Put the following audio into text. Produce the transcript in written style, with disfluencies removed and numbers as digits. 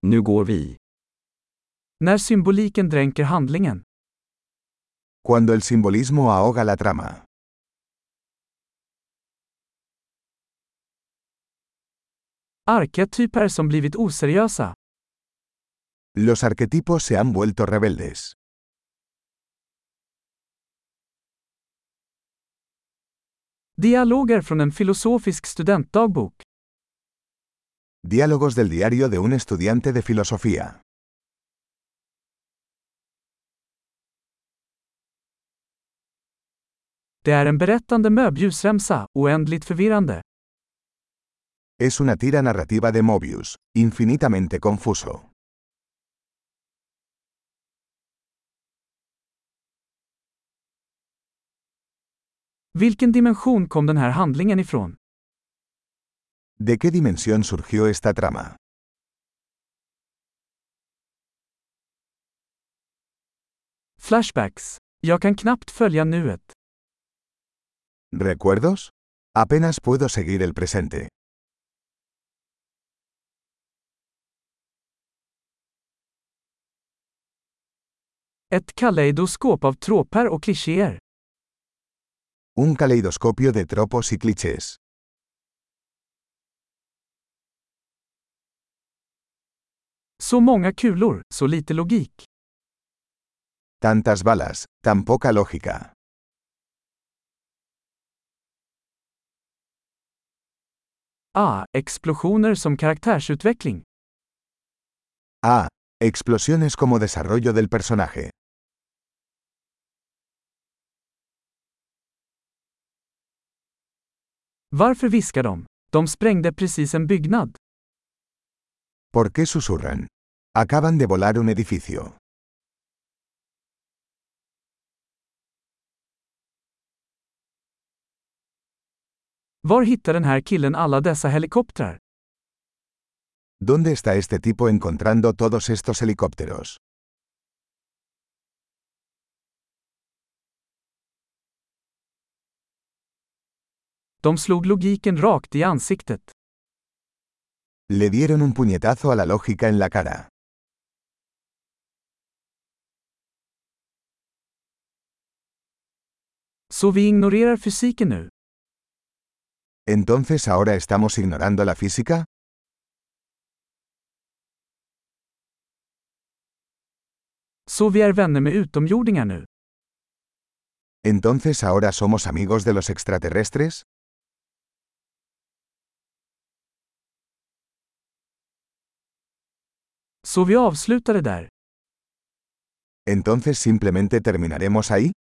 Nu går vi. När symboliken dränker handlingen. Cuando el simbolismo ahoga la trama. Arketyper som blivit oseriösa. Los arquetipos se han vuelto rebeldes. Dialoger från en filosofisk studentdagbok. Diálogos del diario de un estudiante de filosofía. Det är en berättande möbljusremsa, oändligt förvirrande. Es una tira narrativa de Mobius, infinitamente confuso. Vilken dimension kom den här handlingen ifrån? ¿De qué dimensión surgió esta trama? Flashbacks. Jag kan knappt följa nuet. ¿Recuerdos? Apenas puedo seguir el presente. Ett kaleidoskop av tråper och klichéer. Un caleidoscopio de tropos y clichés. Så många kulor, så lite logik. Tantas balas, tan poca lógica. Explosioner som karaktärsutveckling. Explosiones como desarrollo del personaje. Varför viskar de? De sprängde precis en byggnad. ¿Por qué susurran? Acaban de volar un edificio. Var hittar den här killen alla dessa helikoptrar? ¿Dónde está este tipo encontrando todos estos helicópteros? De slog logiken rakt i ansiktet. Le dieron un puñetazo a la lógica en la cara. Så vi ignorerar fysiken nu. ¿Entonces ahora estamos ignorando la física? Så vi är vänner med utomjordingar nu. ¿Entonces ahora somos amigos de los extraterrestres? Så vi avslutar det där. ¿Entonces simplemente terminaremos ahí?